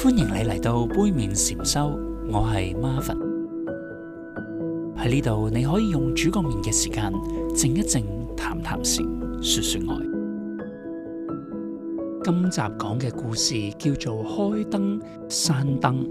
歡迎你嚟到杯麵禪修，我係 Marvin。喺呢度你可以用煮個麵嘅時間靜一靜，談談禪，說說愛。今集講嘅故事叫做開燈閂燈。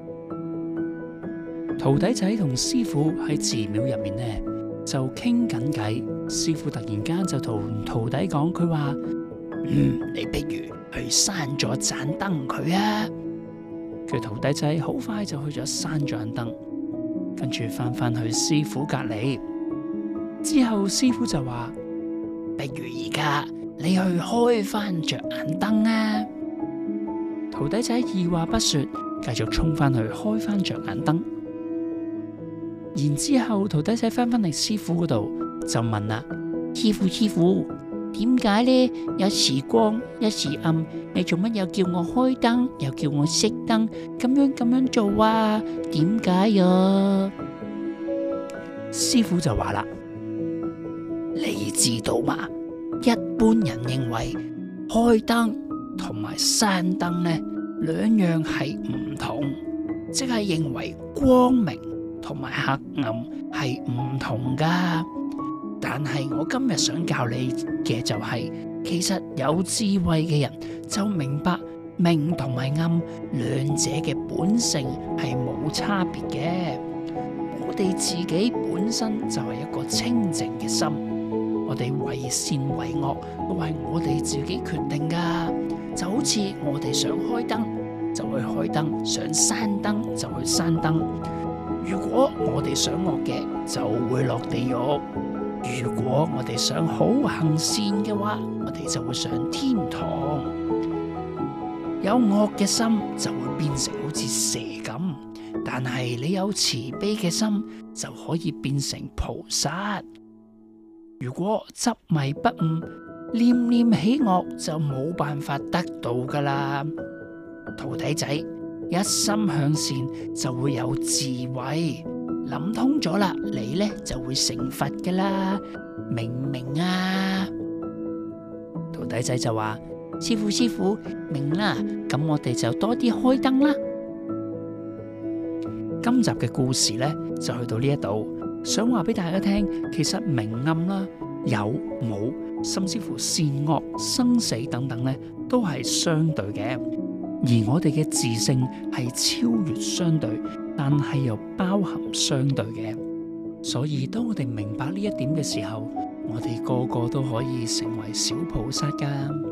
徒弟仔同師父喺寺廟入面呢就傾緊偈，師父突然間就同徒弟講，佢話：你不如去閂咗盞燈佢啊！佢徒弟仔好快就去咗閂咗盞燈，跟住翻去師父隔籬。之後師父就話：不如而家你去開翻着眼燈啊！徒弟仔二話不說，繼續衝翻去開翻着眼燈。然之後徒弟仔翻嚟師父嗰度就問啦：師父，點解呢？有時光，有時暗，你做乜又叫我開燈，又叫我熄燈，咁樣做啊？點解呀？師父就話啦：你知道嘛？一般人認為開燈同埋閂燈呢兩樣係唔同，即係認為光明同埋黑暗係唔同噶。但係我今日想教你嘅就係，其實有智慧嘅人就明白明同埋暗兩者嘅本性係冇差別嘅。我哋自己本身就係一個清淨嘅心，我哋為善為惡都係我哋自己決定噶。就好似我哋想開燈就去開燈，想閂燈就去閂燈。如果我哋想惡嘅，就會落地獄。如果我哋想好行善嘅話，我哋就會上天堂。有惡嘅心就會變成好似蛇咁，但係你有慈悲嘅心就可以變成菩薩。如果執迷不悟，念念起惡就冇辦法得到噶啦。徒弟仔，一心向善就會有智慧。諗通咗啦，你呢就會成佛噶啦，明唔明啊？徒弟仔就話：師父，明啦，咁我哋就多啲開燈啦。今集嘅故事呢就去到呢一度，想話俾大家聽，其實明暗啦、有冇，甚至乎善惡、生死等等呢，都係相對嘅。而我哋嘅自性係超越相對，但係又包含相對嘅。所以當我哋明白呢一點嘅時候，我哋個個都可以成為小菩薩噶。